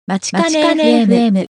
まちかね FM。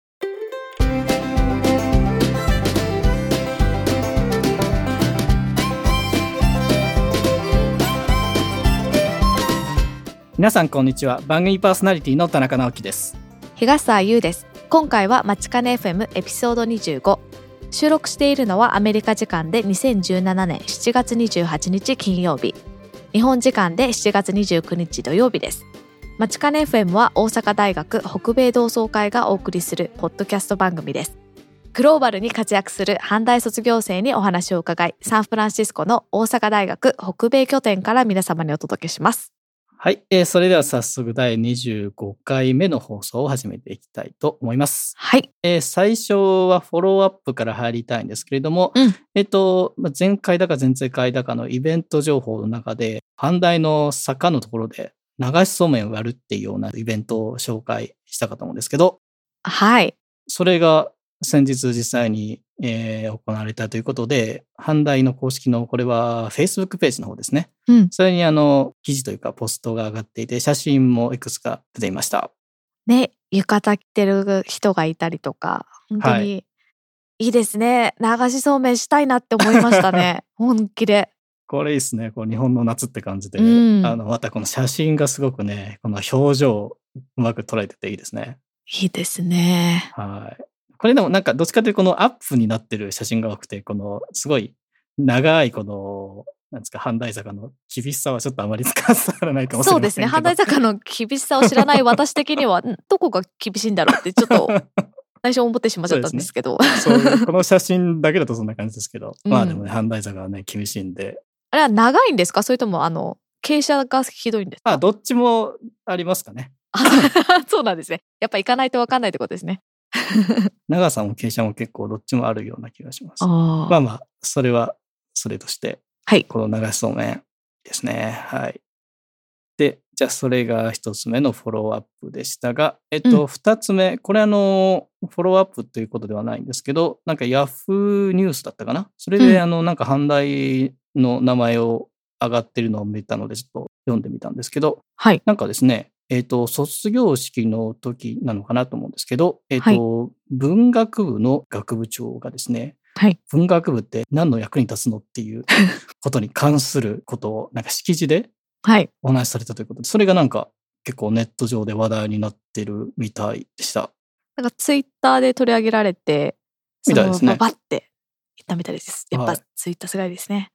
皆さんこんにちは。番組パーソナリティの田中直樹です。 東沢優です。今回はまちかね FM エピソード25。収録しているのはアメリカ時間で2017年7月28日金曜日、日本時間で7月29日土曜日です。まちかね FM は大阪大学北米同窓会がお送りするポッドキャスト番組です。グローバルに活躍する阪大卒業生にお話を伺い、サンフランシスコの大阪大学北米拠点から皆様にお届けします。 はい、それでは早速第25回目の放送を始めていきたいと思います。 はい。 最初はフォローアップから入りたいんですけれども、前回だか前々回だかのイベント情報の中で、阪大の坂のところで流しそうめんを割るっていうようなイベントを紹介したかと思うんですけど、 はい。 それが先日実際に、行われたということで、阪大の公式のこれは Facebook ページの方ですね。それに記事というかポストが上がっていて、写真もいくつか出ていました。 ね、浴衣着てる人がいたりとか、本当にいいですね。流しそうめんしたいなって思いましたね。本気で。 これいいですね。こう日本の夏って感じで、またこの写真がすごくね、この表情をうまく捉えてていいですね。 いいですね。 はい。これでもなんかどっちかというとこのアップになってる写真が多くて、このすごい長いこのなんですか、阪大坂の厳しさはちょっとあまり伝わらないかもしれませんけど。 そうですね。阪大坂の厳しさを知らない私的にはどこが厳しいんだろうってちょっと最初思ってしまっちゃったんですけど。 そうこの写真だけだとそんな感じですけど、まあでもね、阪大坂はね厳しいんで。 あれは長いんですか？それとも傾斜がひどいんですか？ どっちもありますかね。 そうなんですね。やっぱ行かないと分かんないってことですね。 長さも傾斜も結構どっちもあるような気がします。まあそれはそれとして、 はい、 この流しそうめんですね。はい。で、じゃあそれが一つ目のフォローアップでしたが、二つ目、これフォローアップということではないんですけど、なんかヤフーニュースだったかな。それでなんか阪大の名前を上がってるのを見たのでちょっと読んでみたんですけど、 はい、 なんかですね、卒業式の時なのかなと思うんですけど、文学部の学部長がですね、文学部って何の役に立つのっていうことに関することをなんか式辞でお話しされたということで、それがなんか結構ネット上で話題になってるみたいでした。 なんかツイッターで取り上げられて、 みたいですね。 バッて言ったみたいです。やっぱツイッターすごいですね。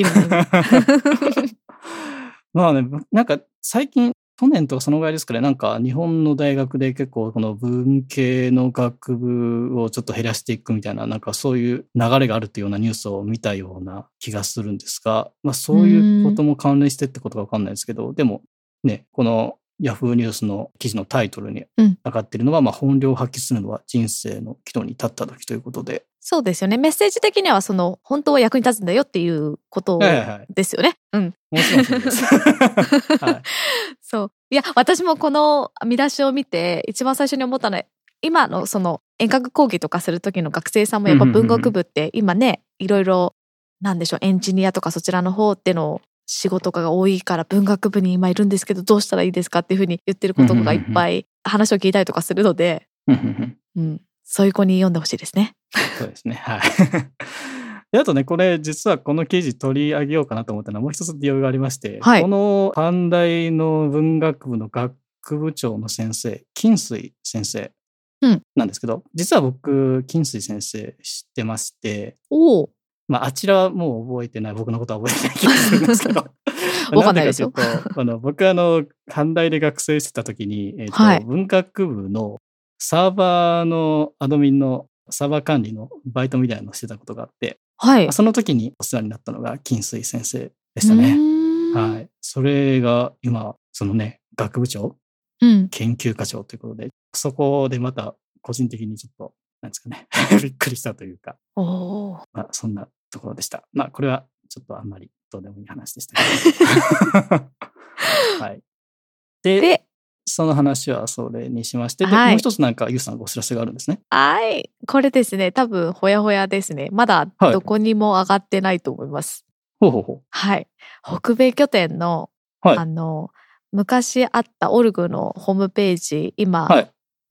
まあね、なんか最近去年とかそのぐらいですかね、なんか日本の大学で結構この文系の学部をちょっと減らしていくみたいな、なんかそういう流れがあるっていうようなニュースを見たような気がするんですが、まあそういうことも関連してってことがわかんないですけど、でもね、このヤフーニュースの記事のタイトルに上がっているのは、まあ本領を発揮するのは人生の岐路に立った時ということで。 そうですよね。メッセージ的には本当は役に立つんだよっていうことですよね。 もちろんそうです。 そう。いや、私もこの見出しを見て一番最初に思ったのは、今の遠隔講義とかする時の学生さんもやっぱ文学部って今ね、いろいろなんでしょう、エンジニアとかそちらの方っての仕事が多いから文学部に今いるんですけどどうしたらいいですかっていうふうに言ってる子とかがいっぱい話を聞いたりとかするので、そういう子に読んでほしいですね。 そうですね。はい。であとね、これ実はこの記事取り上げようかなと思ったのはもう一つ理由がありまして、この阪大の文学部の学部長の先生、金水先生なんですけど、実は僕金水先生知ってまして、まああちらはもう覚えてない、僕のことは覚えてない気がするんですけど。 わかんないですよ。 僕阪大で学生してた時に、文学部のサーバーのアドミンのサーバー管理のバイトみたいなのをしてたことがあって、その時にお世話になったのが金水先生でしたね。はい。それが今、学部長、研究課長ということで、そこでまた個人的にちょっと、なんですかね、びっくりしたというか、まあ、そんなところでした。まあ、これはちょっとあんまりどうでもいい話でしたけど。はい。で、その話はそれにしまして、で、もう一つなんかゆうさんがお知らせがあるんですね。 はい。これですね、多分ほやほやですね。まだどこにも上がってないと思います。はい。北米拠点の、昔あったオルグのホームページ、今、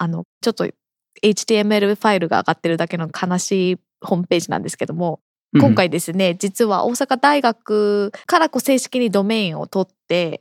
ちょっと HTML ファイルが上がってるだけの悲しいホームページなんですけども、今回ですね、実は大阪大学から正式にドメインを取って、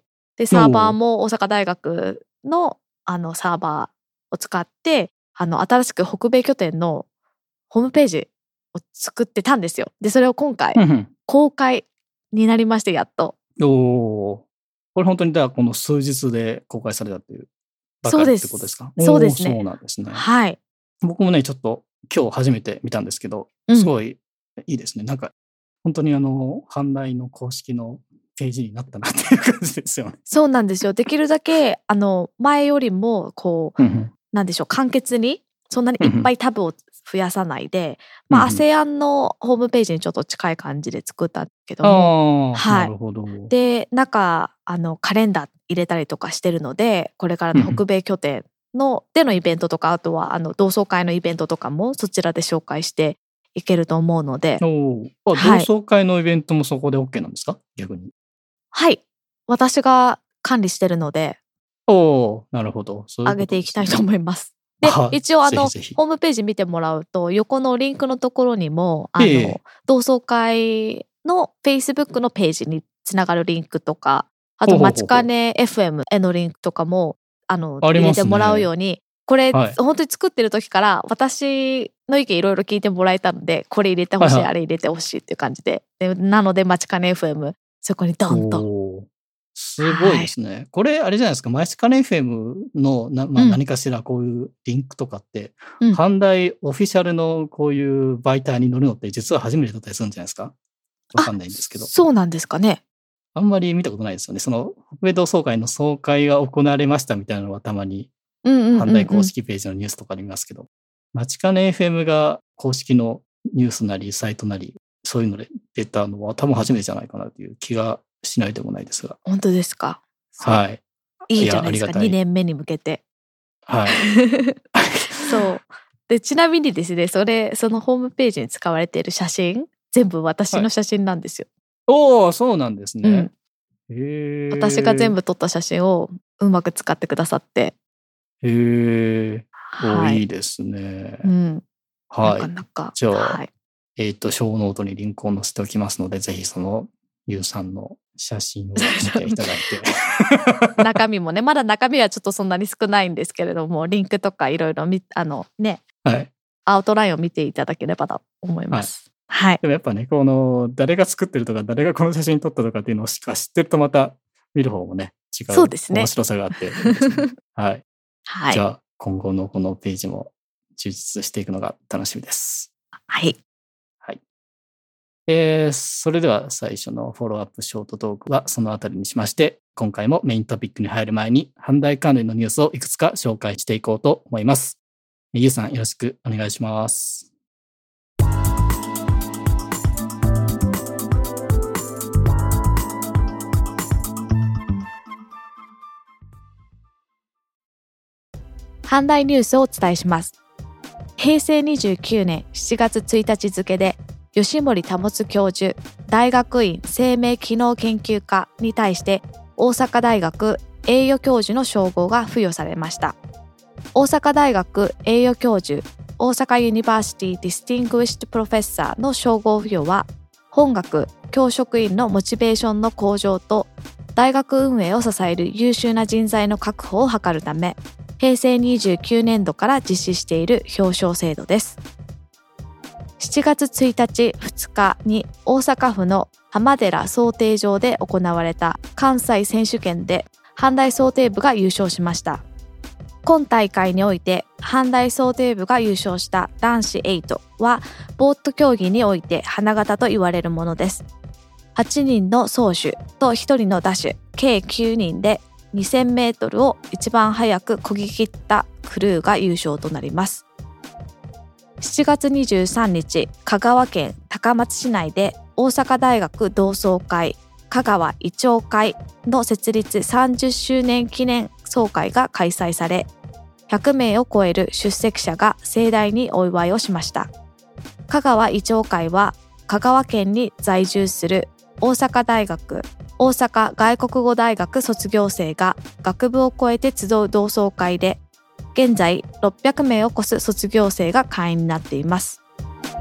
でサーバーも大阪大学のサーバーを使って新しく北米拠点のホームページを作ってたんですよ。でそれを今回公開になりまして、やっと。 これ本当にこの数日で公開されたというばかりってことですか？ そうですね。 そうなんですね。 はい。 僕もねちょっと今日初めて見たんですけど、すごいいいですね。なんか本当に阪大の公式のページになったなっていう感じですよね。 そうなんですよ。できるだけ前よりもなんでしょう、簡潔にそんなにいっぱいタブを増やさないで、ASEAN のホームページにちょっと近い感じで作ったんですけども、 なるほど。 で中カレンダー入れたりとかしてるので、これからの北米拠点でのイベントとか、あとは同窓会のイベントとかもそちらで紹介していけると思うので。 同窓会のイベントもそこで OK なんですか？逆に。 はい、私が管理してるので、 なるほほど。 上げていきたいと思います。で一応ぜひホームページ見てもらうと、横のリンクのところにも同窓会の Facebook のページにつながるリンクとか、あとまちかね FM へのリンクとかも入れてもらうように、これ、本当に作ってる時から私の意見いろいろ聞いてもらえたので、これ入れてほしい、あれ入れてほしいっていう感じで、なのでまちかね FM そこにドンと。 すごいですね。これあれじゃないですか、まちかね FM の何かしらこういうリンクとかって、阪大オフィシャルのこういう媒体に載るのって実は初めてだったりするんじゃないですか？わかんないんですけど。 そうなんですかね。 あんまり見たことないですよね。その北米同窓会の総会が行われましたみたいなのはたまに阪大公式ページのニュースとかで見ますけど、まちかね FM が公式のニュースなりサイトなりそういうので出たのは多分初めてじゃないかなという気がしないでもないですが。 本当ですか？ はい。 いいじゃないですか、2年目に向けて。 はい。 そうで、ちなみにですね、そのホームページに使われている写真、全部私の写真なんですよ。 そうなんですね。 私が全部撮った写真をうまく使ってくださって。 いいですね。はい。 なかなか。 じゃあ、ショーノートにリンクを載せておきますので、ぜひそのゆうさんの写真を見ていただいて中身もね、まだ中身はちょっとそんなに少ないんですけれども、リンクとかいろいろアウトラインを見ていただければと思います。はい。 でもやっぱね、誰が作ってるとか誰がこの写真撮ったとかっていうのをしか知ってると、また見る方もね違う面白さがあって、はい。じゃあ今後のこのページも充実していくのが楽しみです。 はい。 それでは最初のフォローアップショートトークはそのあたりにしまして、今回もメイントピックに入る前に阪大関連のニュースをいくつか紹介していこうと思います。ゆうさんよろしくお願いします。 阪大ニュースをお伝えします。平成29年7月1日付で吉森保教授、大学院生命機能研究科に対して大阪大学栄誉教授の称号が付与されました。大阪大学栄誉教授、大阪ユニバーシティディスティングイッシュプロフェッサーの称号付与は、本学教職員のモチベーションの向上と大学運営を支える優秀な人材の確保を図るため、平成29年度から実施している表彰制度です。7月1日2日に大阪府の浜寺漕艇場で行われた関西選手権で阪大漕艇部が優勝しました。今大会において阪大漕艇部が優勝した男子8はボート競技において花形と言われるものです。8人の走手と1人の打手計9人で2000メートルを一番早く漕ぎ切ったクルーが優勝となります。7月23日、香川県高松市内で大阪大学同窓会香川医長会の設立30周年記念総会が開催され、100名を超える出席者が盛大にお祝いをしました。香川医長会は香川県に在住する大阪大学、大阪外国語大学卒業生が学部を超えて集う同窓会で、 現在600名を超す卒業生が会員になっています。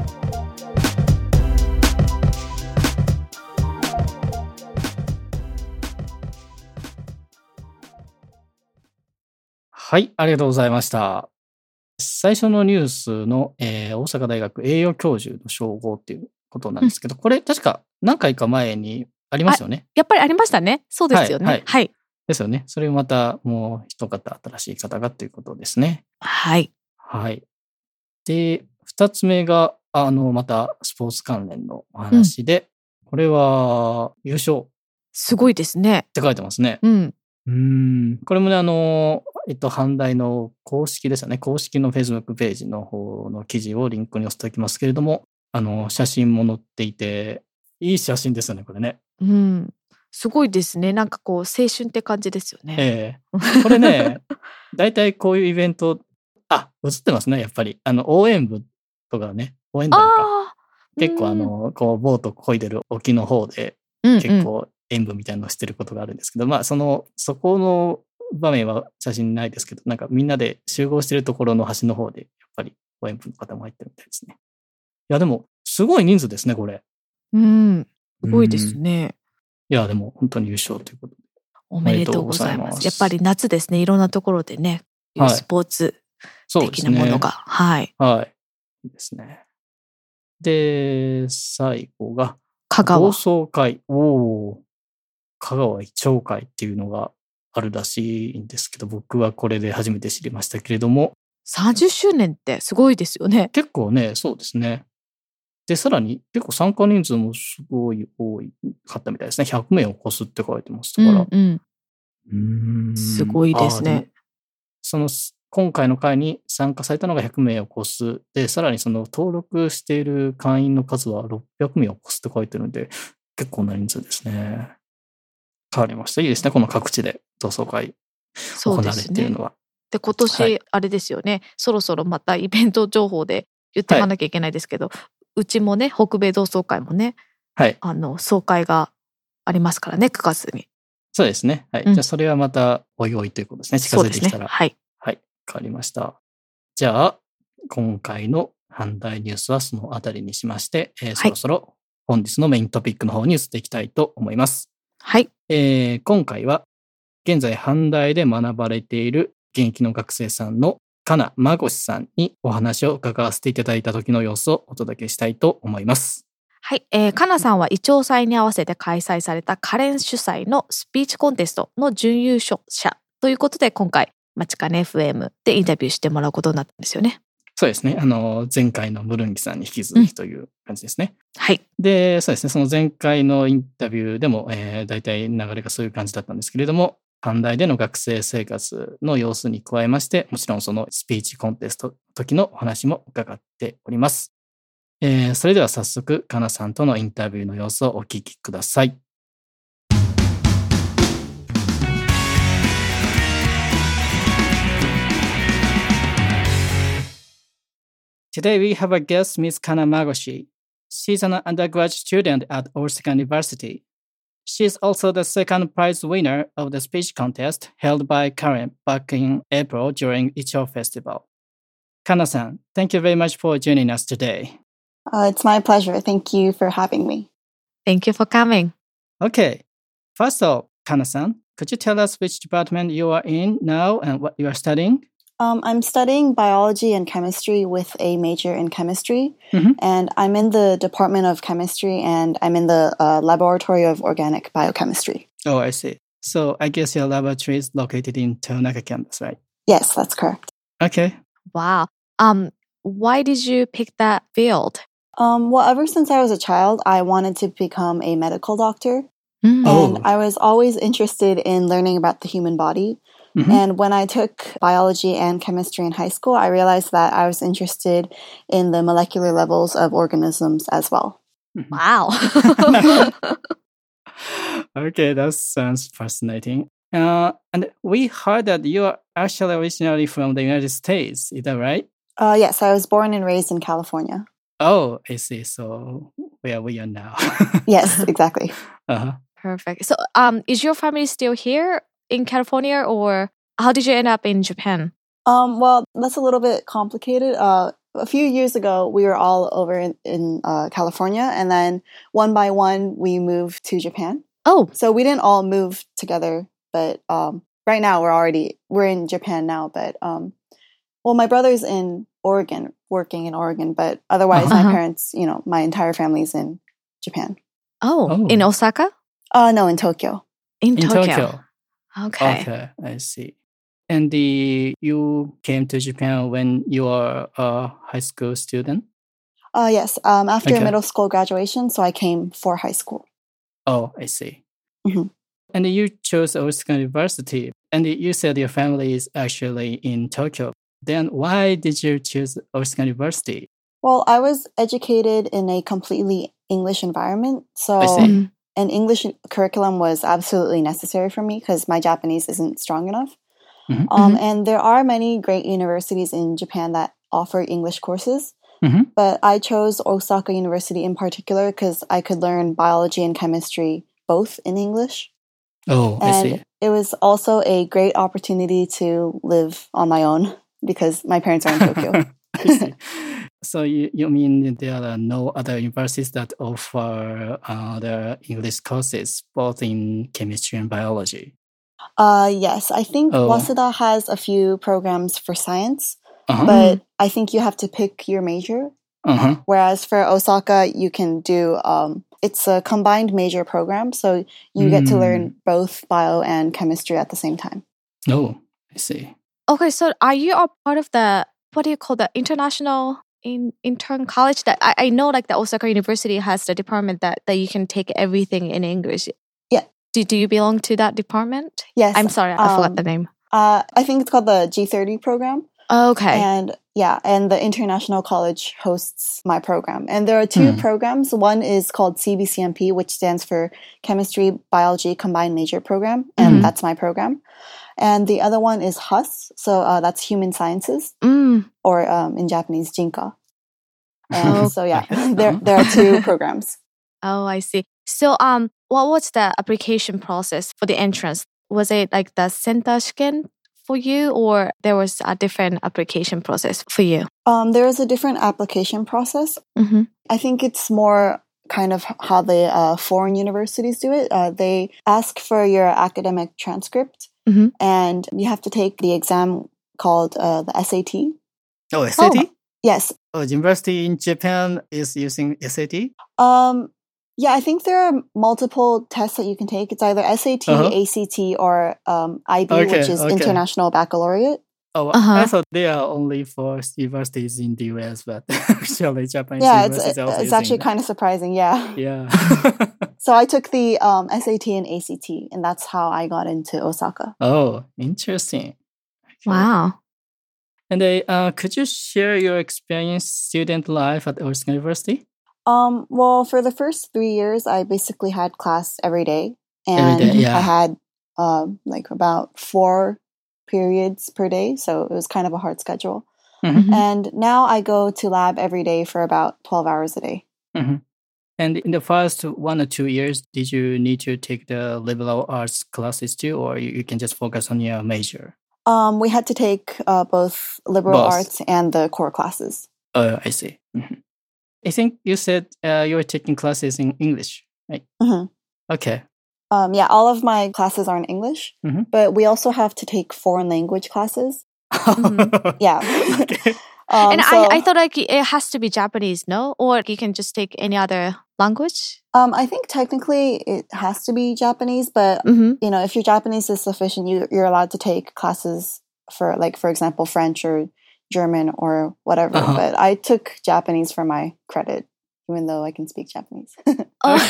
はい、ありがとうございました。最初のニュースの、大阪大学栄誉教授の称号っていうことなんですけど、これ確か何回か前にありますよね。 やっぱりありましたね。そうですよね。はい。 ですよね。それをまたもう一方新しい方がということですね。 はい。 はい。で、2つ目がまたスポーツ関連のお話で、これは優勝。 すごいですね。 って書いてますね。これもね、阪大の公式ですよね。公式の Facebook ページの方の記事をリンクに載せておきますけれども、写真も載っていて、いい写真ですよね、これね。 すごいですね。なんかこう、青春って感じですよね。 これね、大体こういうイベント、映ってますね、やっぱり。応援部とかね、応援団か。結構こう、ボート漕いでる沖の方で、結構演舞みたいなのをしてることがあるんですけど、そこの場面は写真ないですけど、なんかみんなで集合してるところの端の方で、やっぱり応援部の方も入ってるみたいですね。いや、でも、すごい人数ですね、これ。 すごいですね。 いや、でも本当に優勝ということで。 おめでとうございます。やっぱり夏ですね、いろんなところでね、スポーツ的なものが。はい。 いいですね。で、最後が、 香川。 同窓会。香川一丁会っていうのがあるらしいんですけど、僕はこれで初めて知りましたけれども。 30周年ってすごいですよね。 結構ね、そうですね。で、さらに結構参加人数もすごい多かったみたいですね。100名を超すって書いてましたから。 すごいですね。 今回の会に参加されたのが100名を超す。で、さらにその登録している会員の数は600名を超すって書いてるので、結構な人数ですね。変わりました。いいですね。この各地で同窓会行われているのは。 で、今年、あれですよね。そろそろまたイベント情報で言っていかなきゃいけないですけど、うちもね、北米同窓会もね、総会がありますからね、9月に。 そうですね。じゃあ、それはまたおいおいということですね。近づいてきたら。変わりました。じゃあ、今回の阪大ニュースはそのあたりにしまして、そろそろ本日のメイントピックの方に移っていきたいと思います。今回は現在阪大で学ばれている現役の学生さんのかなまごしさんにお話を伺わせていただいた時の様子をお届けしたいと思います。 かなさんはイチョウ祭に合わせて開催されたカレン主催のスピーチコンテストの準優勝者ということで、今回まちかね FM でインタビューしてもらうことになったんですよね。 そうですね。前回のムルンギさんに引き続きという感じですね。で、そうですね。その前回のインタビューでも、大体流れがそういう感じだったんですけれども、阪大での学生生活の様子に加えまして、もちろんそのスピーチコンテスト時のお話も伺っております。それでは早速、かなさんとのインタビューの様子をお聞きください。Today we have a guest, Ms. Kana Magoshi. She's an undergraduate student at Osaka University. She is also the second prize winner of the speech contest held by Karen back in April during Ichigo Festival. Kana-san, thank you very much for joining us today. It's my pleasure. Thank you for having me. Thank you for coming. Okay. First of all, Kana-san, could you tell us which department you are in now and what you are studying? I'm studying biology and chemistry with a major in chemistry, and I'm in the Department of Chemistry, and I'm in the Laboratory of Organic Biochemistry. Oh, I see. So I guess your laboratory is located in Toyonaka campus, right? Yes, that's correct. Okay. Wow. Why did you pick that field? Well, ever since I was a child, I wanted to become a medical doctor, and I was always interested in learning about the human body. And when I took biology and chemistry in high school, I realized that I was interested in the molecular levels of organisms as well. Wow. Okay, that sounds fascinating. And we heard that you are actually originally from the United States. Is that right? Yes, I was born and raised in California. Oh, I see. So where we are now. Yes, exactly. Perfect. So is your family still here in California, or how did you end up in Japan? Well, that's a little bit complicated. A few years ago, we were all over in California, and then one by one, we moved to Japan. Oh. So we didn't all move together, but right now we're in Japan now, but well, my brother's in Oregon, working in Oregon, but otherwise my parents, my entire family's in Japan. Oh, in Osaka? No, in Tokyo. In Tokyo. Okay, I see. And you came to Japan when you were a high school student? Yes, after middle school graduation, so I came for high school. Oh, I see. Mm-hmm. And you chose Osaka University, and you said your family is actually in Tokyo. Then why did you choose Osaka University? Well, I was educated in a completely English environment, so an English curriculum was absolutely necessary for me because my Japanese isn't strong enough. Mm-hmm. And there are many great universities in Japan that offer English courses, but I chose Osaka University in particular because I could learn biology and chemistry both in English. Oh, and I see. It was also a great opportunity to live on my own because my parents are in Tokyo. I see. So you mean there are no other universities that offer the English courses, both in chemistry and biology? Yes, I think Waseda has a few programs for science, but I think you have to pick your major. Whereas for Osaka, you can do, it's a combined major program, so you get to learn both bio and chemistry at the same time. Oh, I see. Okay, so are you a part of the, what do you call the international intern college? That I know like the Osaka University has the department that you can take everything in English. Yeah. Do you belong to that department? Yes. I'm sorry, I forgot the name. I think it's called the G30 program. Okay. And the International College hosts my program. And there are two programs. One is called CBCMP, which stands for Chemistry, Biology Combined Major Program. And that's my program. And the other one is HUS. So that's Human Sciences, or in Japanese, Jinka. And so there are two programs. Oh, I see. So what was the application process for the entrance? Was it like the Senta Shiken for you, or there was a different application process for you? There is a different application process. I think it's more kind of how the foreign universities do it. They ask for your academic transcript, and you have to take the exam called the SAT. Oh, SAT? Oh, yes. Oh, university in Japan is using SAT? Yeah, I think there are multiple tests that you can take. It's either SAT, ACT, or IB, which is International Baccalaureate. Oh, I thought they are only for universities in the US, but actually Japanese universities are also it's actually kind of surprising, yeah. Yeah. So I took the SAT and ACT, and that's how I got into Osaka. Oh, interesting. Okay. Wow. And could you share your experience student life at Osaka University? Well, for the first 3 years, I basically had class every day. And I had like about 4 periods per day. So it was kind of a hard schedule. And now I go to lab every day for about 12 hours a day. And in the first 1 or 2 years, did you need to take the liberal arts classes too, or you can just focus on your major? We had to take both liberal arts and the core classes. I see. I think you said you were taking classes in English, right? Okay. Yeah, all of my classes are in English, but we also have to take foreign language classes. Yeah. Okay. And I thought like it has to be Japanese, no? Or you can just take any other language? I think technically it has to be Japanese, but if your Japanese is sufficient, you're allowed to take classes for, like, for example, French or German or whatever. But I took Japanese for my credit, even though I can speak Japanese. Okay.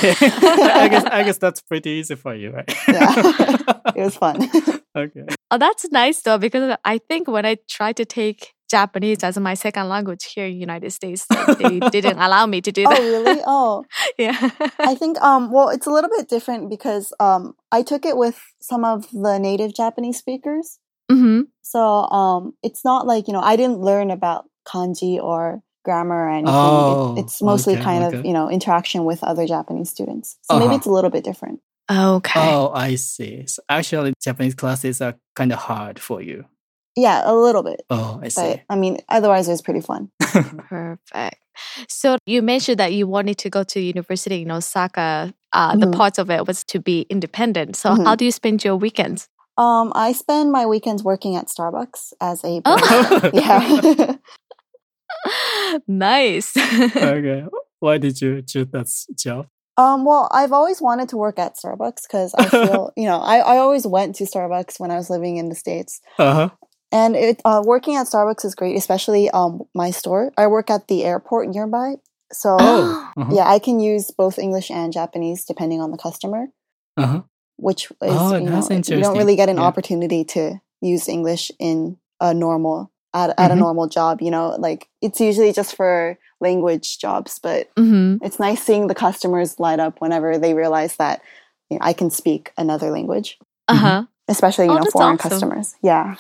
I guess that's pretty easy for you, right? Yeah, it was fun. Okay. Oh, that's nice though, because I think when I tried to take Japanese as my second language here in the United States, they didn't allow me to do that. Oh, really? Oh. Yeah. I think, well, it's a little bit different because I took it with some of the native Japanese speakers. So it's not like, I didn't learn about kanji or grammar or anything. It's mostly kind of, interaction with other Japanese students. So maybe it's a little bit different. Okay. Oh, I see. So actually, Japanese classes are kind of hard for you. Yeah, a little bit. Oh, I see. But, I mean, otherwise it was pretty fun. Perfect. So you mentioned that you wanted to go to university in Osaka. The part of it was to be independent. So how do you spend your weekends? I spend my weekends working at Starbucks as a yeah. Nice. Okay. Why did you choose that job? Well, I've always wanted to work at Starbucks because I feel, I always went to Starbucks when I was living in the States. Uh-huh. And working at Starbucks is great, especially my store. I work at the airport nearby. So, yeah, I can use both English and Japanese depending on the customer. Uh-huh. Which is, you don't really get an opportunity to use English in a normal job, like it's usually just for language jobs, but it's nice seeing the customers light up whenever they realize that I can speak another language, especially foreign customers. Yeah.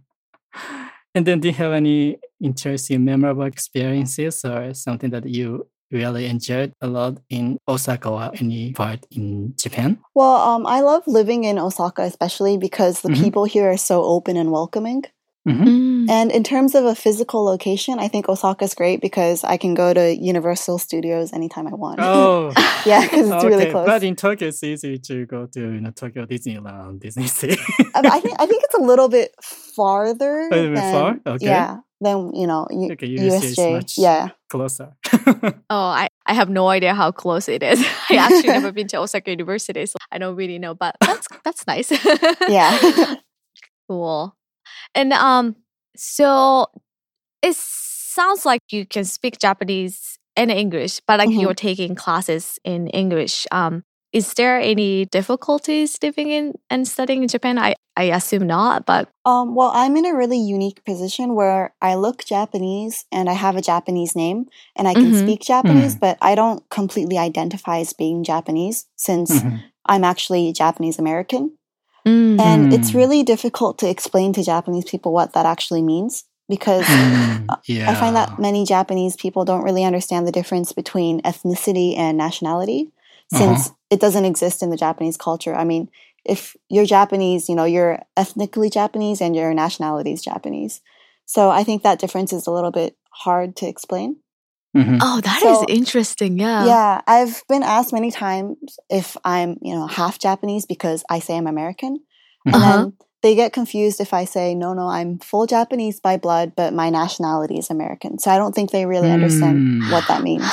And then do you have any interesting, memorable experiences or something that you really enjoyed a lot in Osaka or any part in Japan? Well, I love living in Osaka, especially because the people here are so open and welcoming. And in terms of a physical location, I think Osaka's great because I can go to Universal Studios anytime I want. Oh, yeah, because it's really close. But in Tokyo, it's easy to go to Tokyo Disneyland, Disney Sea. I think it's a little bit farther. A little bit far? Okay. Yeah, than USJ. Much closer. I have no idea how close it is. I actually never been to Osaka University, so I don't really know. But that's nice. Yeah. Cool. And so it sounds like you can speak Japanese and English, but like you're taking classes in English. Is there any difficulties living in and studying in Japan? I assume not, but well, I'm in a really unique position where I look Japanese and I have a Japanese name and I can speak Japanese, but I don't completely identify as being Japanese since I'm actually Japanese American. And it's really difficult to explain to Japanese people what that actually means because I find that many Japanese people don't really understand the difference between ethnicity and nationality since it doesn't exist in the Japanese culture. I mean, if you're Japanese, you're ethnically Japanese and your nationality is Japanese. So I think that difference is a little bit hard to explain. Oh, that is interesting. Yeah. Yeah. I've been asked many times if I'm, half Japanese because I say I'm American. And then they get confused if I say, no, I'm full Japanese by blood, but my nationality is American. So I don't think they really understand what that means.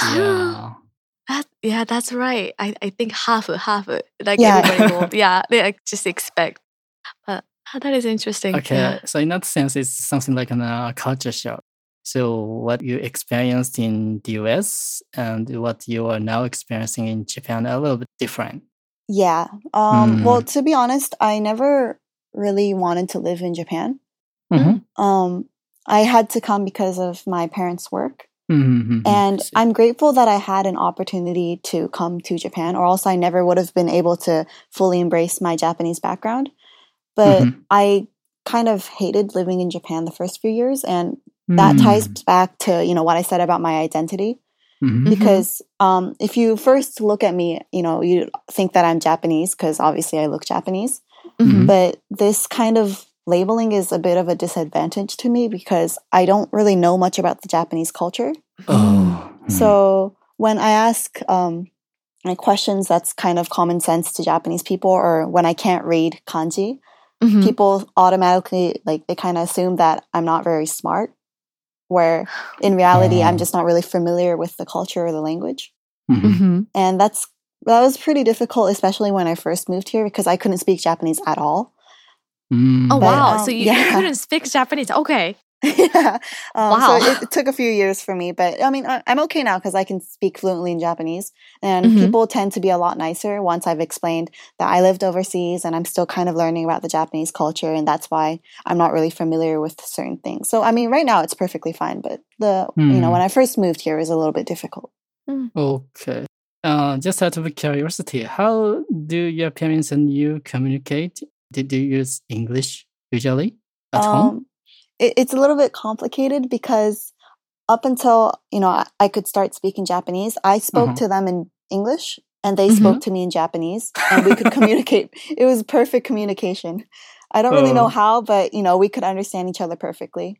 Yeah. That's right. I think half. Like everybody will, they just expect. But that is interesting. Okay. Yeah. So in that sense, it's something like a culture shock. So what you experienced in the US and what you are now experiencing in Japan are a little bit different. Yeah. Well, to be honest, I never really wanted to live in Japan. I had to come because of my parents' work. And I'm grateful that I had an opportunity to come to Japan, or else I never would have been able to fully embrace my Japanese background. But I kind of hated living in Japan the first few years, and that ties back to, what I said about my identity. Because if you first look at me, you think that I'm Japanese because obviously I look Japanese. But this kind of labeling is a bit of a disadvantage to me because I don't really know much about the Japanese culture. So when I ask questions that's kind of common sense to Japanese people, or when I can't read kanji, people automatically, they kind of assume that I'm not very smart. Where in reality, I'm just not really familiar with the culture or the language. And that was pretty difficult, especially when I first moved here because I couldn't speak Japanese at all. Wow. So you couldn't speak Japanese. Okay. Wow. So it took a few years for me, but I mean, I'm okay now because I can speak fluently in Japanese, and people tend to be a lot nicer once I've explained that I lived overseas and I'm still kind of learning about the Japanese culture, and that's why I'm not really familiar with certain things. So I mean, right now it's perfectly fine, but when I first moved here, it was a little bit difficult. Okay. Just out of curiosity, how do your parents and you communicate? Did you use English usually at home? It's a little bit complicated because up until, I could start speaking Japanese, I spoke to them in English and they spoke to me in Japanese and we could communicate. It was perfect communication. I don't really know how, but, we could understand each other perfectly.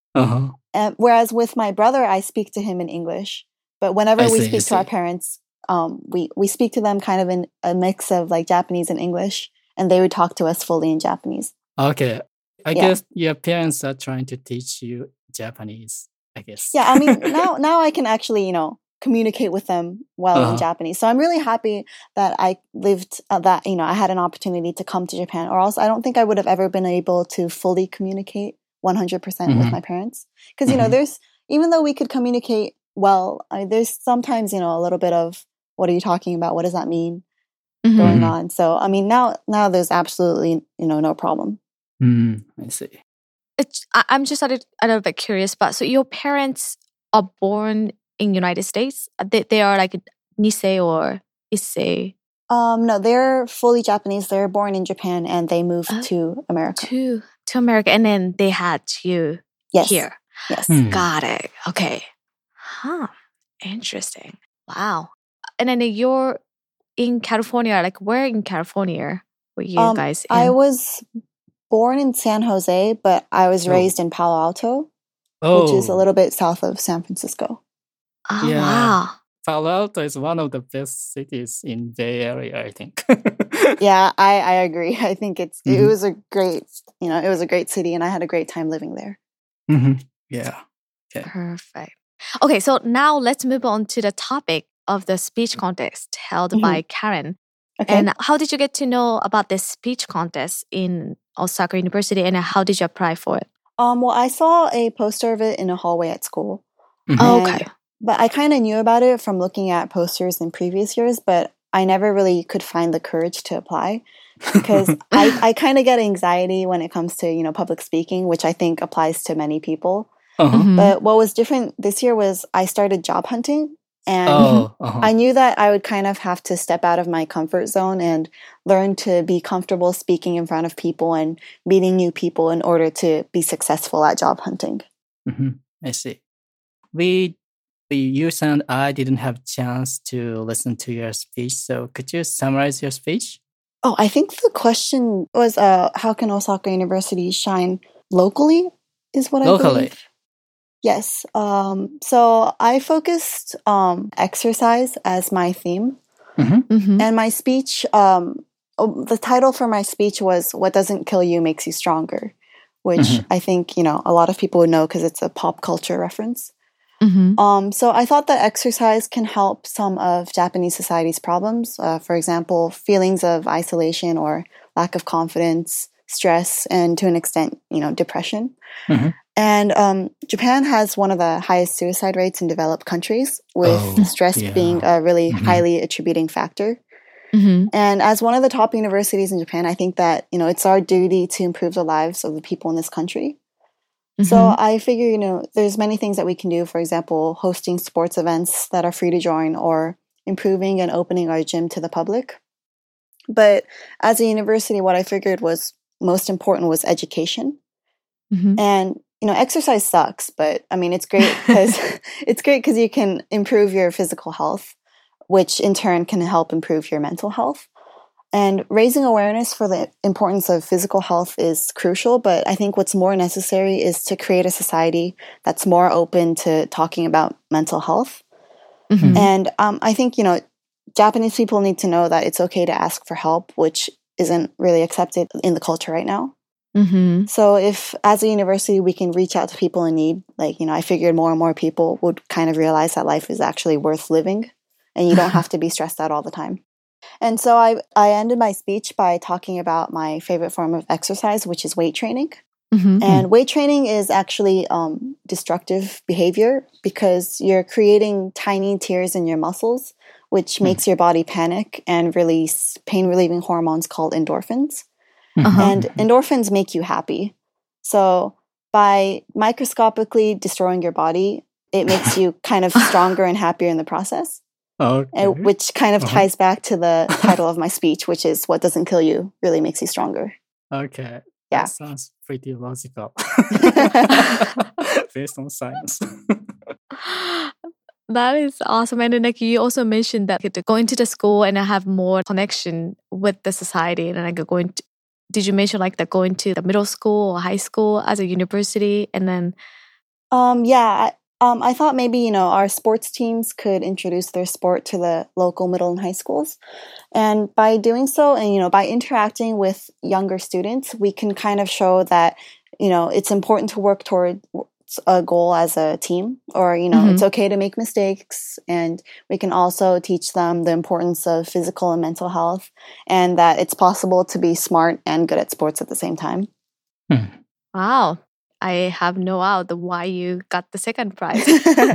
And whereas with my brother, I speak to him in English. But whenever we speak to our parents, we speak to them kind of in a mix of like Japanese and English, and they would talk to us fully in Japanese. Okay. I guess your parents are trying to teach you Japanese, I guess. Yeah, I mean, now I can actually, communicate with them well in Japanese. So I'm really happy that I lived that, I had an opportunity to come to Japan, or else I don't think I would have ever been able to fully communicate 100% with my parents. Because, there's, even though we could communicate well, there's sometimes, a little bit of, what are you talking about? What does that mean going on? So, I mean, now there's absolutely, no problem. I see. I'm just a little bit curious, but so your parents are born in United States? They are like Nisei or Issei? No, they're fully Japanese. They're born in Japan and they moved to America. To America, and then they had you here. Yes. Got it. Okay. Huh. Interesting. Wow. And then you're in California. Like, where in California were you guys in? I was born in San Jose, but I was raised in Palo Alto, which is a little bit south of San Francisco. Oh, yeah. Wow. Palo Alto is one of the best cities in Bay Area, I think. Yeah, I agree. I think it was a great, it was a great city, and I had a great time living there. Yeah. Okay. Perfect. Okay, so now let's move on to the topic of the speech contest held by Karen. Okay. And how did you get to know about this speech contest in Osaka University, and how did you apply for it? Well, I saw a poster of it in a hallway at school. Okay. But I kind of knew about it from looking at posters in previous years, but I never really could find the courage to apply because I kind of get anxiety when it comes to, public speaking, which I think applies to many people. But what was different this year was I started job hunting, and I knew that I would kind of have to step out of my comfort zone and learn to be comfortable speaking in front of people and meeting new people in order to be successful at job hunting. I see. You and I didn't have a chance to listen to your speech, so could you summarize your speech? Oh, I think the question was, how can Osaka University shine locally, is what I believe. Yes. So I focused exercise as my theme. And my speech, the title for my speech was What Doesn't Kill You Makes You Stronger, which I think, a lot of people would know because it's a pop culture reference. So I thought that exercise can help some of Japanese society's problems. For example, feelings of isolation or lack of confidence, stress, and to an extent, depression. And Japan has one of the highest suicide rates in developed countries, with stress being a really highly attributing factor. And as one of the top universities in Japan, I think that, it's our duty to improve the lives of the people in this country. So I figure, there's many things that we can do. For example, hosting sports events that are free to join, or improving and opening our gym to the public. But as a university, what I figured was most important was education. And, exercise sucks, but I mean, it's great because you can improve your physical health, which in turn can help improve your mental health. And raising awareness for the importance of physical health is crucial, but I think what's more necessary is to create a society that's more open to talking about mental health. And I think, Japanese people need to know that it's okay to ask for help, which isn't really accepted in the culture right now. So if, as a university, we can reach out to people in need, like, I figured more and more people would kind of realize that life is actually worth living, and you don't have to be stressed out all the time. And so I ended my speech by talking about my favorite form of exercise, which is weight training. And weight training is actually destructive behavior because you're creating tiny tears in your muscles, which makes your body panic and release pain-relieving hormones called endorphins. And endorphins make you happy. So by microscopically destroying your body, it makes you kind of stronger and happier in the process. Which kind of ties back to the title of my speech, which is What Doesn't Kill You Really Makes You Stronger. Okay. Yeah. That sounds pretty logical. Based on science. That is awesome. And then you also mentioned that going to the school and have more connection with the society and did you mention like the going to the middle school or high school as a university and then? I thought maybe, our sports teams could introduce their sport to the local middle and high schools. And by doing so, and, by interacting with younger students, we can kind of show that, it's important to work toward a goal as a team, or, it's okay to make mistakes. And we can also teach them the importance of physical and mental health, and that it's possible to be smart and good at sports at the same time. Wow. I have no idea why you got the second prize.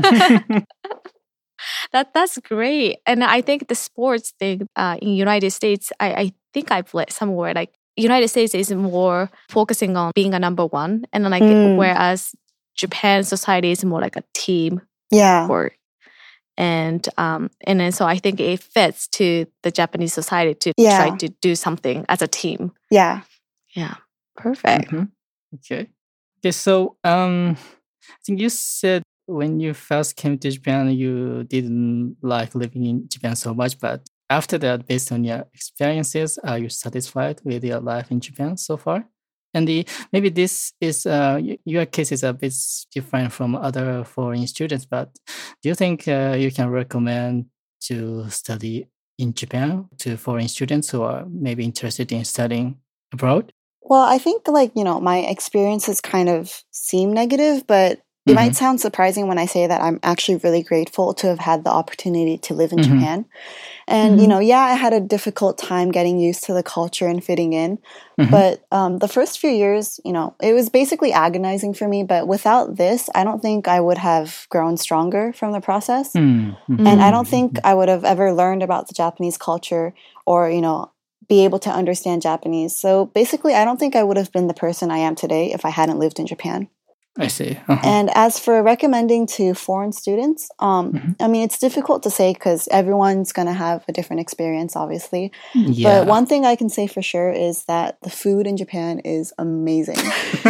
That's great. And I think the sports thing in United States, I think I've read somewhere like United States is more focusing on being a number one, and then whereas Japan society is more like a team sport. And then so I think it fits to the Japanese society to try to do something as a team. Yeah. Perfect. Okay, so I think you said when you first came to Japan, you didn't like living in Japan so much, but after that, based on your experiences, are you satisfied with your life in Japan so far? And maybe this is your case is a bit different from other foreign students, but do you think you can recommend to study in Japan to foreign students who are maybe interested in studying abroad? Well, I think my experiences kind of seem negative, but it might sound surprising when I say that I'm actually really grateful to have had the opportunity to live in Japan. And, I had a difficult time getting used to the culture and fitting in. But the first few years, it was basically agonizing for me. But without this, I don't think I would have grown stronger from the process. And I don't think I would have ever learned about the Japanese culture or, be able to understand Japanese. So basically, I don't think I would have been the person I am today if I hadn't lived in Japan. I see. And as for recommending to foreign students, it's difficult to say because everyone's going to have a different experience, obviously. But one thing I can say for sure is that the food in Japan is amazing.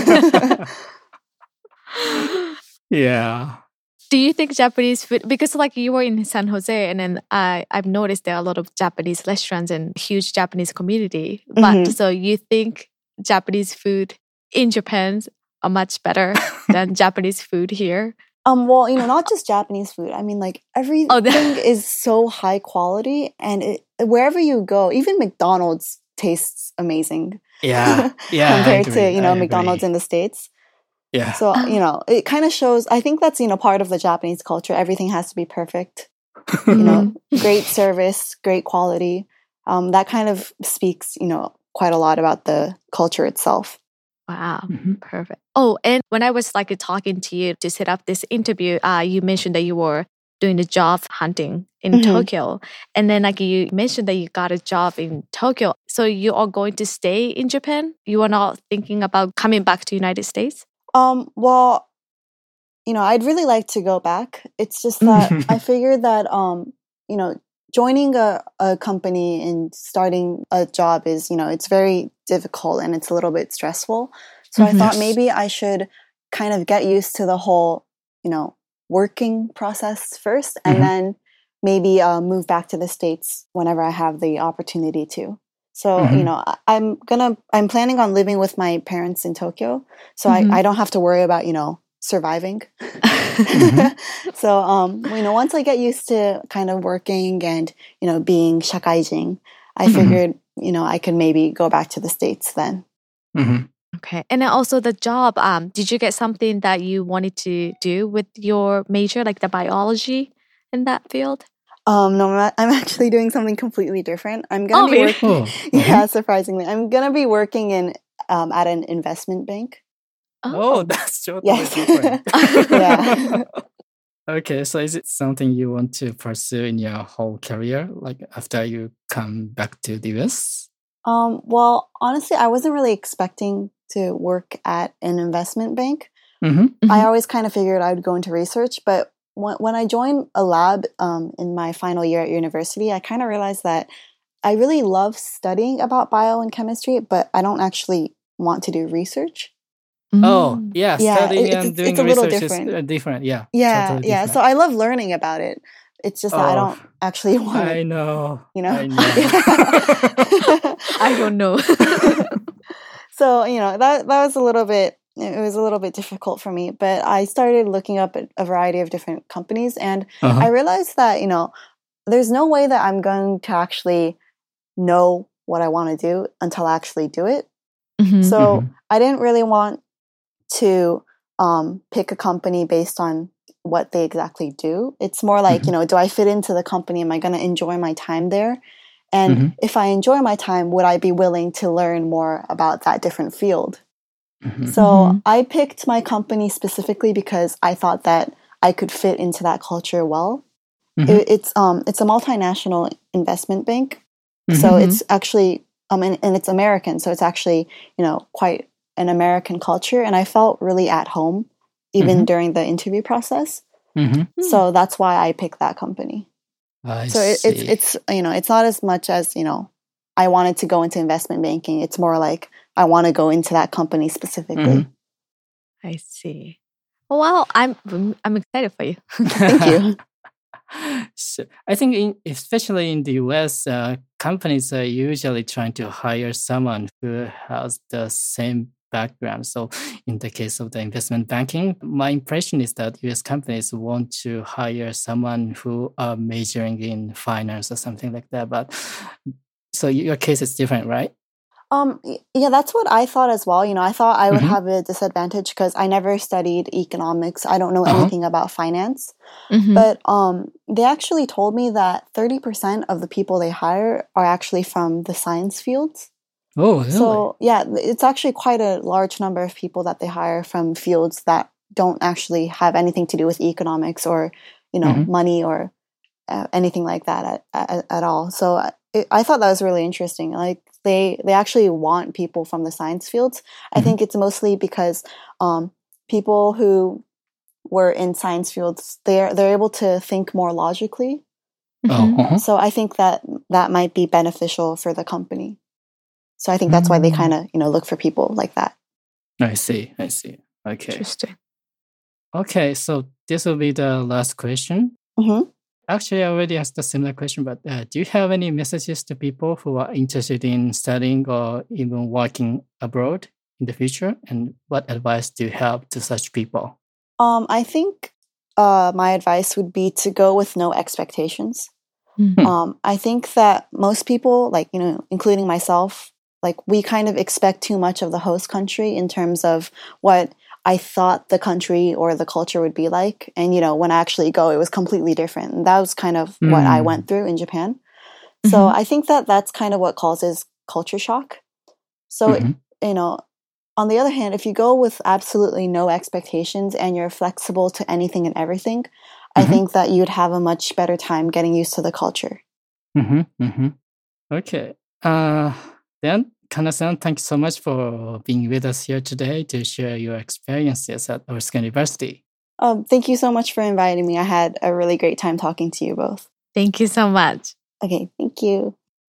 Yeah. Do you think Japanese food, because like you were in San Jose and then I've noticed there are a lot of Japanese restaurants and huge Japanese community. But so you think Japanese food in Japan are much better than Japanese food here? Well, not just Japanese food. I mean, like everything is so high quality, and wherever you go, even McDonald's tastes amazing. Yeah. Compared to McDonald's in the States. Yeah. So it kind of shows. I think that's part of the Japanese culture. Everything has to be perfect. Great service, great quality. That kind of speaks quite a lot about the culture itself. Wow, perfect. Oh, and when I was talking to you to set up this interview, you mentioned that you were doing the job hunting in Tokyo. And then you mentioned that you got a job in Tokyo. So you are going to stay in Japan? You are not thinking about coming back to the United States? Well, I'd really like to go back. It's just that I figured that, joining a company and starting a job is, it's very difficult and it's a little bit stressful. So I thought maybe I should kind of get used to the whole, working process first and then maybe move back to the States whenever I have the opportunity to. So, I'm planning on living with my parents in Tokyo. So I don't have to worry about, surviving. So, once I get used to kind of working and, being shakaijin, I figured, I could maybe go back to the States then. Okay. And then also the job, did you get something that you wanted to do with your major, like the biology in that field? No, I'm actually doing something completely different. I'm going to be working. Yeah, surprisingly. I'm going to be working in at an investment bank. Oh, that's totally different. Yeah. Okay, so is it something you want to pursue in your whole career, like after you come back to the US? Well, honestly, I wasn't really expecting to work at an investment bank. I always kind of figured I would go into research, but when I joined a lab in my final year at university, I kind of realized that I really love studying about bio and chemistry, but I don't actually want to do research. Oh, yeah. Studying and doing research is different. Yeah. Yeah. Totally yeah. different. So I love learning about it. It's just that I don't actually want to. I know. I don't know. So, that was a little bit, it was a little bit difficult for me, but I started looking up at a variety of different companies, and I realized that, there's no way that I'm going to actually know what I want to do until I actually do it. So I didn't really want to pick a company based on what they exactly do. It's more like, do I fit into the company? Am I going to enjoy my time there? And if I enjoy my time, would I be willing to learn more about that different field? So I picked my company specifically because I thought that I could fit into that culture well. It's a multinational investment bank. So it's actually, and it's American. So it's actually, quite an American culture. And I felt really at home even during the interview process. So that's why I picked that company. So it's it's not as much as, I wanted to go into investment banking. It's more like I want to go into that company specifically. I see. Well, I'm excited for you. Thank you. So I think especially in the US, companies are usually trying to hire someone who has the same background. So in the case of the investment banking, my impression is that US companies want to hire someone who are majoring in finance or something like that. But so your case is different, right? Yeah, that's what I thought as well. I thought I would have a disadvantage because I never studied economics. I don't know anything about finance. But they actually told me that 30% of the people they hire are actually from the science fields. Oh, really? So, yeah, it's actually quite a large number of people that they hire from fields that don't actually have anything to do with economics or, money or anything like that at all. So I thought that was really interesting. Like they actually want people from the science fields. I think it's mostly because people who were in science fields, they're able to think more logically. So I think that might be beneficial for the company. So I think that's why they kind of, look for people like that. I see. Okay. Interesting. Okay, so this will be the last question. Actually, I already asked a similar question, but do you have any messages to people who are interested in studying or even working abroad in the future? And what advice do you have to such people? I think my advice would be to go with no expectations. I think that most people, like, including myself, like we kind of expect too much of the host country in terms of what I thought the country or the culture would be like. And, when I actually go, it was completely different. And that was kind of what I went through in Japan. So I think that that's kind of what causes culture shock. So, on the other hand, if you go with absolutely no expectations and you're flexible to anything and everything, I think that you'd have a much better time getting used to the culture. Okay. Then, Kana-san, thank you so much for being with us here today to share your experiences at Osaka University. Thank you so much for inviting me. I had a really great time talking to you both. Thank you so much. Okay, thank you.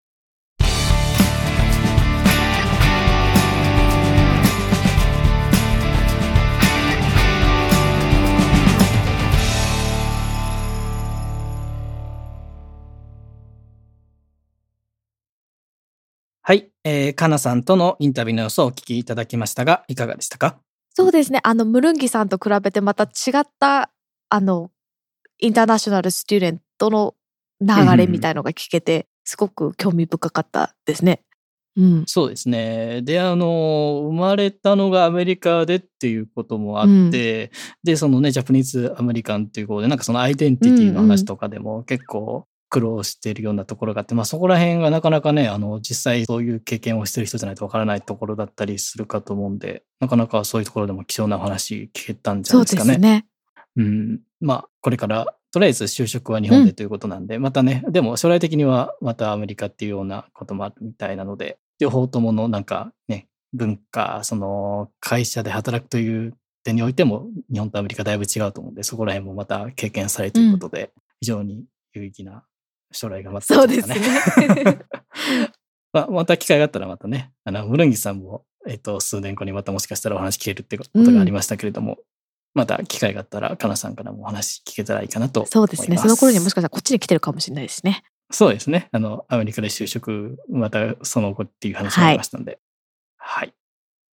はい、かなさんとのインタビューの様子をお聞きいただきましたが、いかがでしたか？ そうですね。ムルンギさんと比べてまた違ったインターナショナルスチューデントの流れみたいのが聞けて、すごく興味深かったですね。 そうですね。で、生まれたのがアメリカでっていうこともあって、で、そのね、ジャパニーズアメリカンっていうことで、なんかそのアイデンティティの話とかでも結構苦労しているようなところがあって、そこら辺がなかなかね、実際そういう経験をしている人じゃないとわからないところだったりするかと思うんで、なかなかそういうところでも貴重なお話聞けたんじゃないですかね。 そうですね。これからとりあえず就職は日本でということなんで、またね、でも将来的にはまたアメリカっていうようなこともあるみたいなので、両方とものなんかね、文化、その会社で働くという点においても日本とアメリカだいぶ違うと思うんで、そこら辺もまた経験されるということで、非常に有意義な将来が待ってますね。そうですね。また機会があったらまたね、ムルンギさんも、数年後にまたもしかしたらお話聞けるってことがありましたけれども、また機会があったら、かなさんからもお話聞けたらいいかなと思います。 そうですね。その頃にもしかしたらこっちに来てるかもしれないですね。 そうですね。アメリカで就職、またその後っていう話がありましたので。はい。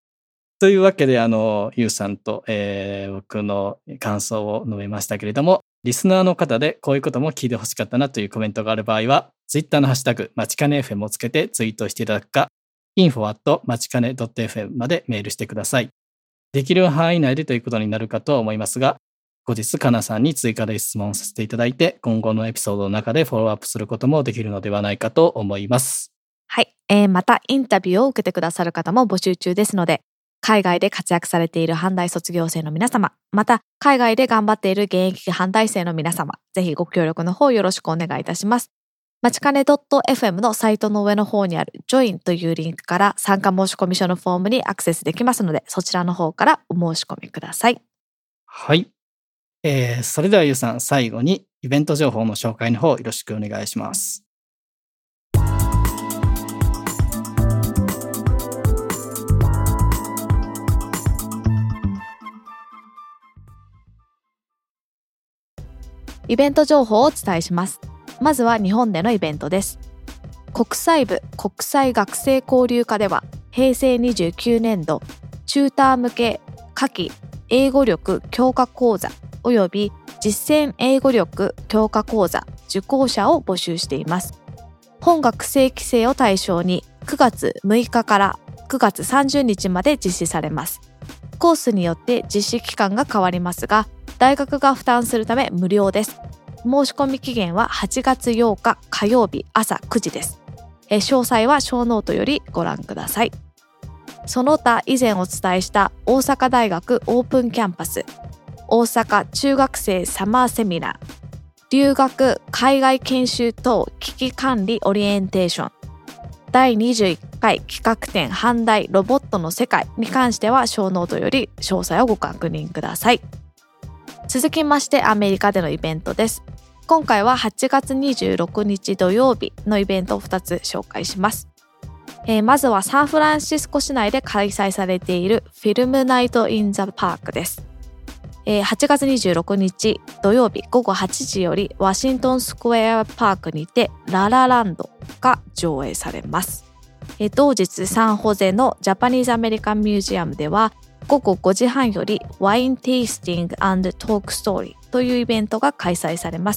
というわけで、ゆうさんと、僕の感想を述べましたけれども、リスナーの方でこういうことも聞いてほしかったなというコメントがある場合は、Twitter のハッシュタグ、まちかね FM をつけてツイートしていただくか、info@ まちかね .fm までメールしてください。できる範囲内でということになるかとは思いますが、後日、かなさんに追加で質問させていただいて、今後のエピソードの中でフォローアップすることもできるのではないかと思います。 はい。また、インタビューを受けてくださる方も募集中ですので、海外で活躍されている阪大卒業生の皆様、また、海外で頑張っている現役阪大生の皆様、ぜひご協力の方よろしくお願いいたします。まちかね .fm のサイトの上の方にある Join というリンクから参加申し込み書のフォームにアクセスできますので、そちらの方からお申し込みください。 はい。それではゆうさん、最後にイベント情報の紹介の方よろしくお願いします。 イベント情報をお伝えします。まずは日本でのイベントです。国際部国際学生交流科では、平成29年度チューター向け夏季英語力強化講座および実践英語力強化講座受講者を募集しています。本学生期生を対象に9月6日から9月30日まで実施されます。コースによって実施期間が変わりますが、大学が負担するため無料です。申し込み期限は8月8日火曜日朝9時です。詳細はショーノートよりご覧ください。その他以前お伝えした大阪大学オープンキャンパス、大阪中学生サマーセミナー、留学海外研修等危機管理オリエンテーション、第21回企画展阪大ロボットの世界に関してはショーノートより詳細をご確認ください。続きましてアメリカでのイベントです。今回は8月26日土曜日のイベントを2つ紹介します。まずはサンフランシスコ市内で開催されているフィルムナイト・イン・ザ・パークです。8月26日土曜日午後8時よりワシントンスクエアパークにてララランドが上映されます。同日サンホゼのジャパニーズアメリカンミュージアムでは午後5時半よりワインテイスティング&トークストーリーというイベントが開催されます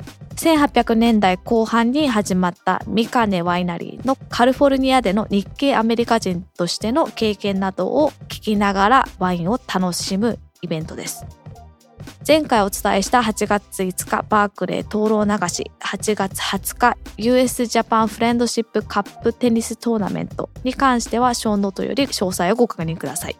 。1800年代後半に始まったミカネワイナリーのカリフォルニアでの日系アメリカ人としての経験などを聞きながらワインを楽しむイベントです。前回お伝えした8月5日バークレー灯籠流し、8月20日 US ジャパンフレンドシップカップテニストーナメントに関してはショーノートより詳細をご確認ください。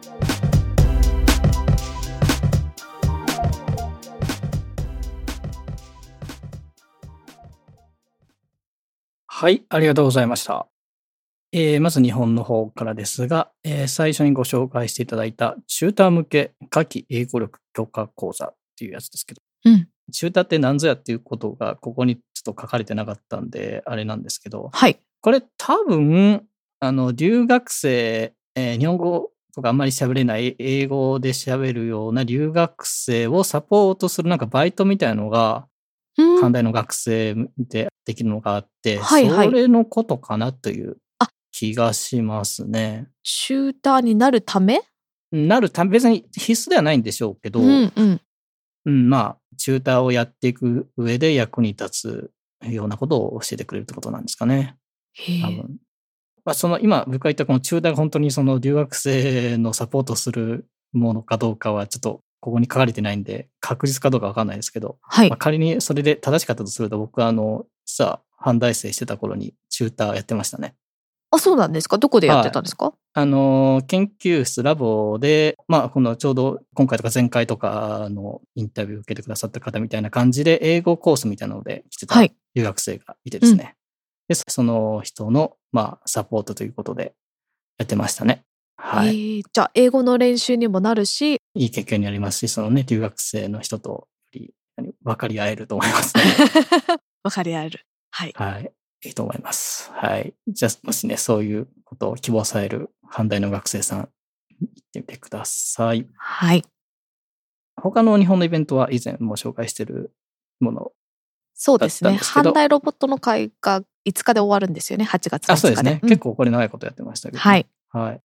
はい、ありがとうございました。まず日本の方からですが、最初にご紹介していただいたチューター向け夏季英語力強化講座っていうやつですけど、チューターって何ぞやっていうことがここにちょっと書かれてなかったんであれなんですけど、 はい、 これ多分留学生、日本語とかあんまり喋れない英語で喋るような留学生をサポートするなんかバイトみたいのが阪大の学生でできるのがあって、それのことかなという気がしますね。 チューターになるため別に必須ではないんでしょうけど、まあチューターをやっていく上で役に立つようなことを教えてくれるってことなんですかね。多分。今僕が言ったこのチューターが本当にその留学生のサポートするものかどうかはちょっとここに書かれてないんで確実かどうかわかんないですけど、仮にそれで正しかったとすると僕は実は阪大生してた頃にチューターやってましたね。 あ、そうなんですか。どこでやってたんですか？ 研究室ラボで、このちょうど今回とか前回とかのインタビューを受けてくださった方みたいな感じで英語コースみたいなので来てた留学生がいてですね。で、その人のサポートということでやってましたね。はい。 じゃあ英語の練習にもなるし、 いい経験になりますし、留学生の人とより分かり合えると思いますね。 分かり合える。はい。 はい。いいと思います。はい。じゃあ、もしね、そういうことを希望される阪大の学生さん、行ってみてください。 はい。 他の日本のイベントは以前も紹介しているものそうですね。阪大ロボットの会が5日で終わるんですよね、8月5日で。 そうですね。結構これ長いことやってましたけど、 はい。 はい。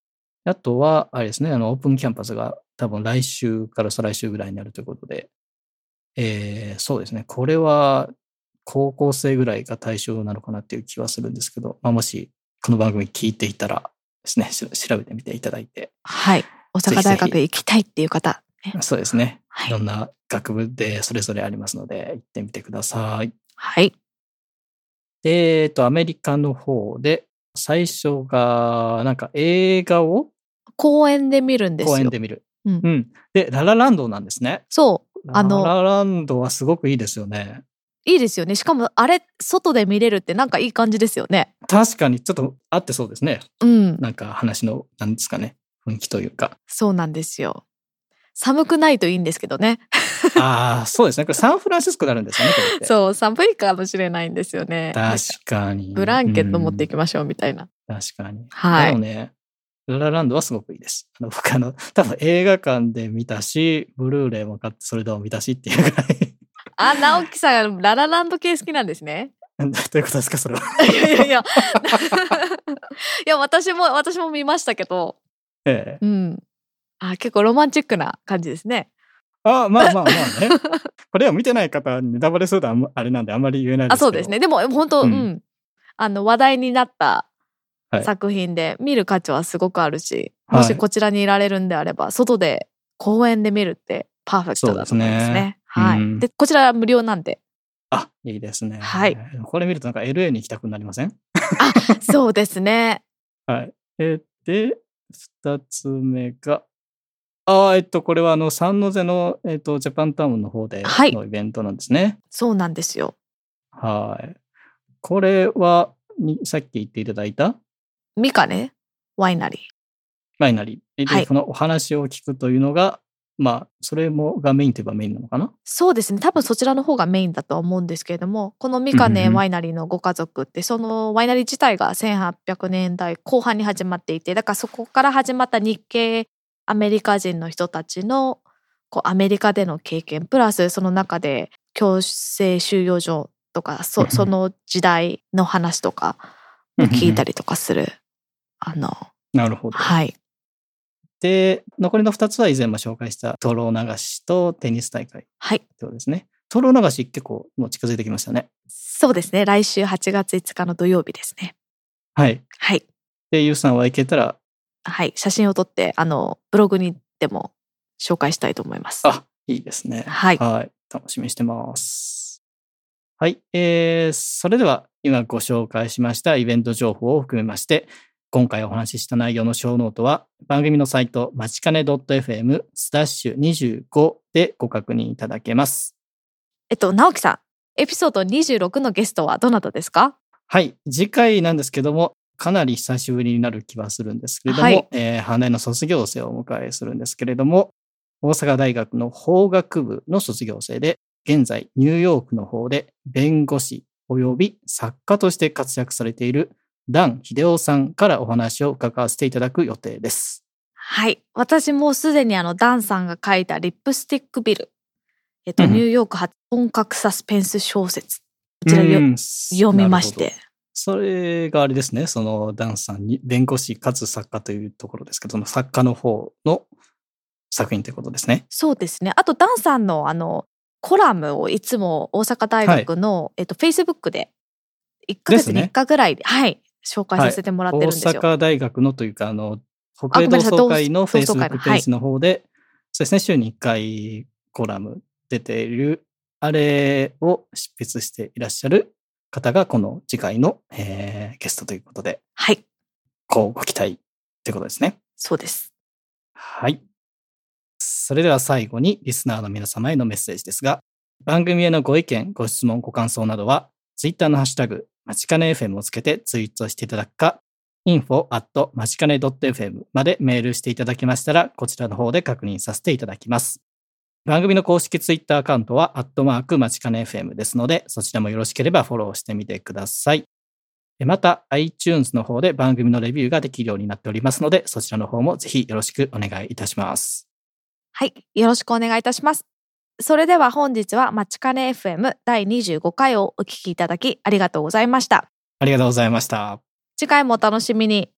あとは、あれですね、オープンキャンパスが多分来週から再来週ぐらいになるということで、そうですね、これは高校生ぐらいが対象なのかなっていう気はするんですけど、もしこの番組聞いていたらですね、調べてみていただいて。 はい。大阪大学行きたいっていう方、 ね。そうですね。いろんな学部でそれぞれありますので、行ってみてください。 はい。 で、アメリカの方で、最初が、なんか映画を公園で見るんですよ。 公園で見る。うん。で、ララランドなんですね。 そう。 ララランドはすごくいいですよね。 いいですよね。しかもあれ、外で見れるってなんかいい感じですよね。 確かに、ちょっと合ってそうですね。 うん。 なんか話の、なんですかね、雰囲気というか。 そうなんですよ。寒くないといいんですけどね。 ああ、そうですね。これサンフランシスコになるんですよね、これって。 そう、寒いかもしれないんですよね。 確かに。 ブランケット持っていきましょうみたいな。 確かに。 はい。 でもね、ララランドはすごくいいです。僕多分映画館で見たし、ブルーレイも買ってそれでも見たしっていうぐらい。 直樹さん、ララランド系好きなんですね。 どういうことですか、それは。 いや、私も見ましたけど。 ええ。 うん。結構ロマンチックな感じですね。 まあね。これを見てない方にネタバレするとあれなんであんまり言えないですけど。 そうですね。でも本当、話題になった作品で見る価値はすごくあるし、もしこちらにいられるんであれば、外で公園で見るってパーフェクトだと思いますね。はい。で、こちらは無料なんで。 いいですね。 はい。 これ見るとなんか LA に行きたくなりません？ そうですね。 はい。で、2つ目が、これはサンノゼの、ジャパンタウンの方でのイベントなんですね。 そうなんですよ。 はい。これは、さっき言っていただいたミカネワイナリー。 で、このお話を聞くというのが、それがメインといえばメインなのかな？ そうですね。多分そちらの方がメインだとは思うんですけれども、このミカネワイナリーのご家族って、そのワイナリー自体が1800年代後半に始まっていて、だからそこから始まった日系アメリカ人の人たちのアメリカでの経験、プラスその中で強制収容所とか、その時代の話とかも聞いたりとかする。 なるほど。 はい。 で、残りの2つは以前も紹介した灯籠流しとテニス大会。 はい。 そうですね。灯籠流し結構もう近づいてきましたね。 そうですね。来週8月5日の土曜日ですね。 はい。 はい。 で、ゆうさんは行けたら、 はい。写真を撮って、ブログにでも紹介したいと思います。 いいですね。 はい。 楽しみにしてます。はい。それでは、今ご紹介しましたイベント情報を含めまして、今回お話しした内容の小ノートは番組のサイトまちかね .fm/25 でご確認いただけます。 直樹さん、エピソード26のゲストはどなたですか？ はい、次回なんですけども、かなり久しぶりになる気はするんですけれども、阪大の卒業生をお迎えするんですけれども、大阪大学の法学部の卒業生で、現在ニューヨークの方で弁護士及び作家として活躍されているダン・ヒデオさんからお話を伺わせていただく予定です。 はい。私もすでにダンさんが書いたリップスティックビル。ニューヨーク発本格サスペンス小説。こちら読みまして。 それがあれですね。そのダンさんに弁護士かつ作家というところですけど、その作家の方の作品ということですね。 そうですね。あとダンさんのコラムをいつも大阪大学の、Facebook で1ヶ月に1回ぐらいで、紹介させてもらってるんですよ。 大阪大学のというか、北米同窓会の Facebook ページの方で、そうですね、週に1回コラム出ている、あれを執筆していらっしゃる方が、この次回の、ゲストということで、 はい。 ご期待ということですね。 そうです。 はい。それでは最後にリスナーの皆様へのメッセージですが、番組へのご意見、ご質問、ご感想などは、Twitter のハッシュタグ、まちかね FM をつけてツイートしていただくか、info@ まちかね .fm までメールしていただきましたら、こちらの方で確認させていただきます。番組の公式ツイッターアカウントは、@まちかね FM ですので、そちらもよろしければフォローしてみてください。また、iTunes の方で番組のレビューができるようになっておりますので、そちらの方もぜひよろしくお願いいたします。 はい、よろしくお願いいたします。それでは本日はまちかね FM 第25回をお聞きいただきありがとうございました。 ありがとうございました。 次回もお楽しみに。